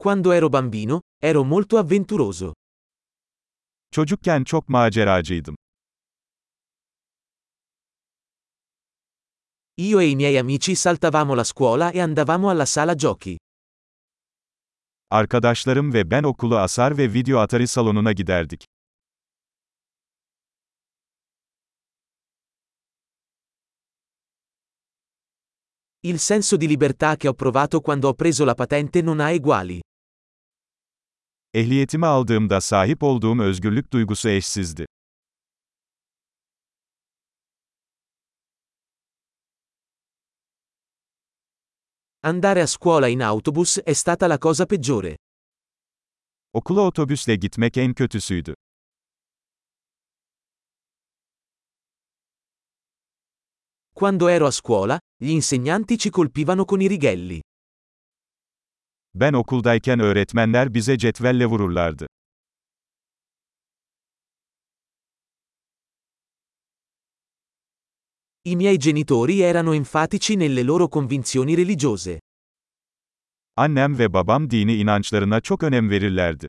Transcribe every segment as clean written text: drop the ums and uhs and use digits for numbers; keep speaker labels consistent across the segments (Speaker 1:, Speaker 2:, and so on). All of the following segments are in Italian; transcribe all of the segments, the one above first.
Speaker 1: Quando ero bambino, ero molto avventuroso.
Speaker 2: Çocukken çok maceracıydım.
Speaker 1: Io e i miei amici saltavamo la scuola e andavamo alla sala giochi.
Speaker 2: Arkadaşlarım ve ben okulu asar ve video Atari salonuna giderdik.
Speaker 1: Il senso di libertà che ho provato quando ho preso la patente non ha eguali.
Speaker 2: Ehliyetimi aldığımda sahip olduğum özgürlük duygusu eşsizdi.
Speaker 1: Andare a scuola in autobus è stata la cosa peggiore.
Speaker 2: Okula otobüsle gitmek en kötüsüydü.
Speaker 1: Quando ero a scuola, gli insegnanti ci colpivano con i righelli.
Speaker 2: Ben okuldayken öğretmenler bize cetvelle vururlardı.
Speaker 1: I miei genitori erano enfatici nelle loro convinzioni religiose.
Speaker 2: Annem ve babam dini inançlarına çok önem verirlerdi.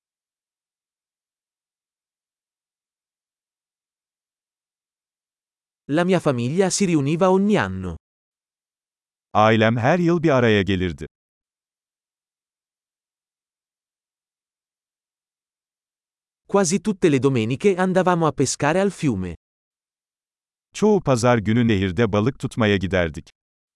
Speaker 1: La mia famiglia si riuniva ogni anno.
Speaker 2: Ailem her yıl bir araya gelirdi.
Speaker 1: Quasi tutte le domeniche andavamo a pescare al fiume.
Speaker 2: Çoğu pazar günü nehirde balık tutmaya giderdik.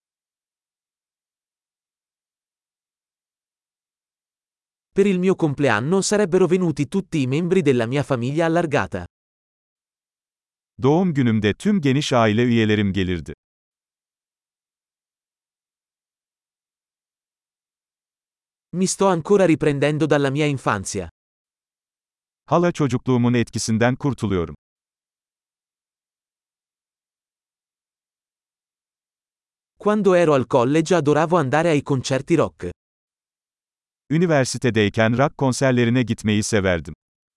Speaker 1: Per il mio compleanno sarebbero venuti tutti i membri della mia famiglia allargata.
Speaker 2: Doğum günümde tüm geniş aile üyelerim gelirdi.
Speaker 1: Mi sto ancora riprendendo dalla mia infanzia.
Speaker 2: Hala çocukluğumun etkisinden kurtuluyorum.
Speaker 1: Quando ero al college adoravo andare ai concerti rock.
Speaker 2: Üniversitedeyken rock konserlerine gitmeyi severdim.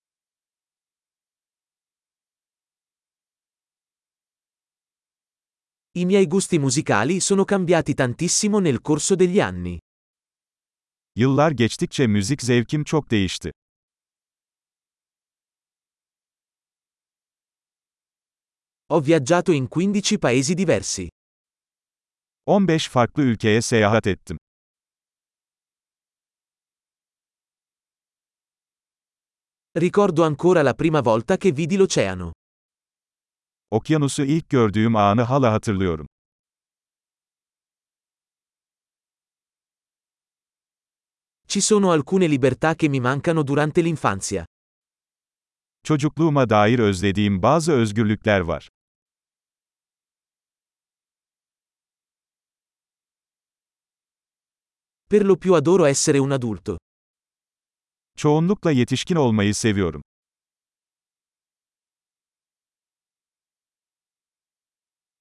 Speaker 1: I miei gusti musicali sono cambiati tantissimo nel corso degli anni.
Speaker 2: Yıllar geçtikçe müzik zevkim çok değişti.
Speaker 1: Ho viaggiato in 15 paesi diversi.
Speaker 2: 15 farklı ülkeye seyahat ettim.
Speaker 1: Ricordo ancora la prima volta che vidi l'oceano.
Speaker 2: Okyanusu ilk gördüğüm anı hala hatırlıyorum.
Speaker 1: Ci sono alcune libertà che mi mancano durante l'infanzia.
Speaker 2: Çocukluğuma dair özlediğim bazı özgürlükler var.
Speaker 1: Per lo più adoro essere un adulto.
Speaker 2: Çoğunlukla yetişkin olmayı seviyorum.